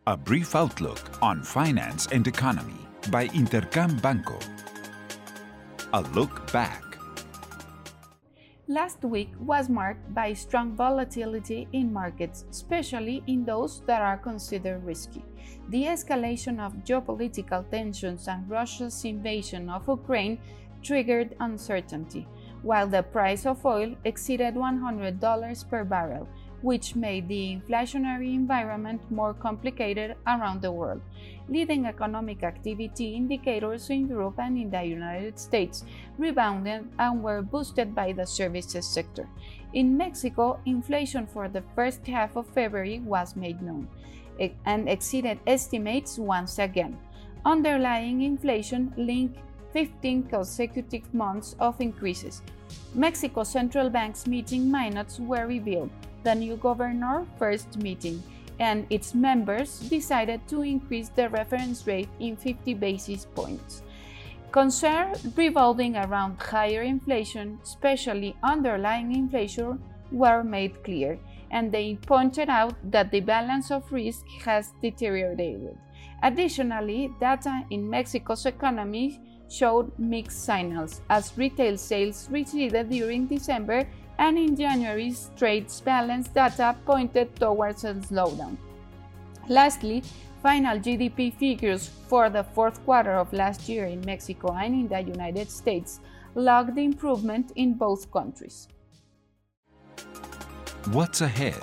A brief outlook on finance and economy by Intercam Banco. A look back. Last week was marked by strong volatility in markets, especially in those that are considered risky. The escalation of geopolitical tensions and Russia's invasion of Ukraine triggered uncertainty, while the price of oil exceeded $100 per barrel, which made the inflationary environment more complicated around the world. Leading economic activity indicators in Europe and in the United States rebounded and were boosted by the services sector. In Mexico, inflation for the first half of February was made known and exceeded estimates once again. Underlying inflation linked 15 consecutive months of increases. Mexico's central bank's meeting minutes were revealed. The new governor's first meeting, and its members decided to increase the reference rate in 50 basis points. Concerns revolving around higher inflation, especially underlying inflation, were made clear, and they pointed out that the balance of risk has deteriorated. Additionally, data in Mexico's economy showed mixed signals, as retail sales receded during December, and in January's trade balance data pointed towards a slowdown. Lastly, final GDP figures for the fourth quarter of last year in Mexico and in the United States logged improvement in both countries. What's ahead?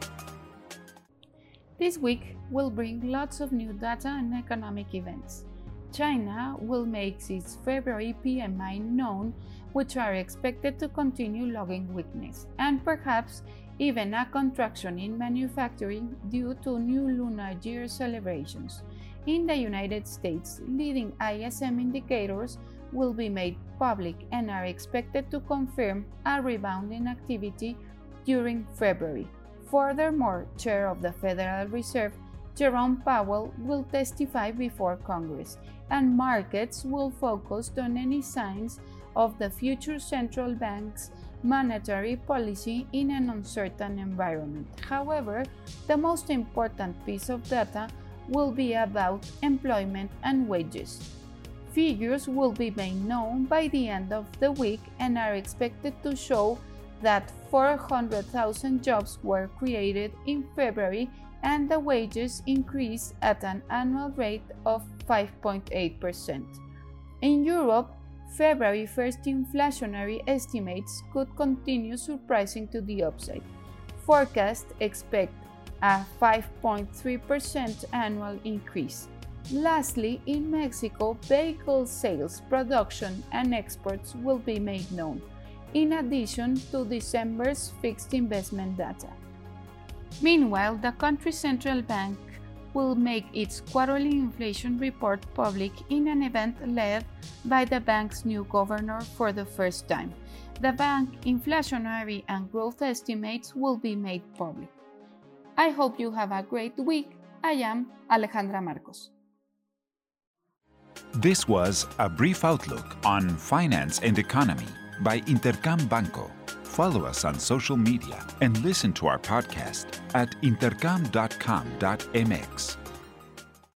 This week will bring lots of new data and economic events. China will make its February PMI known, which are expected to continue logging weakness, and perhaps even a contraction in manufacturing due to new lunar year celebrations. In the United States, leading ISM indicators will be made public and are expected to confirm a rebound in activity during February. Furthermore, Chair of the Federal Reserve Jerome Powell will testify before Congress, and markets will focus on any signs of the future central bank's monetary policy in an uncertain environment. However, the most important piece of data will be about employment and wages. Figures will be made known by the end of the week and are expected to show that 400,000 jobs were created in February and the wages increased at an annual rate of 5.8%. In Europe, February 1st inflationary estimates could continue surprising to the upside. Forecasts expect a 5.3% annual increase. Lastly, in Mexico, vehicle sales, production, and exports will be made known, in addition to December's fixed investment data. Meanwhile, the country's central bank will make its quarterly inflation report public in an event led by the bank's new governor for the first time. The bank inflationary and growth estimates will be made public. I hope you have a great week. I am Alejandra Marcos. This was a brief outlook on finance and economy by Intercam Banco. Follow us on social media and listen to our podcast at intercam.com.mx.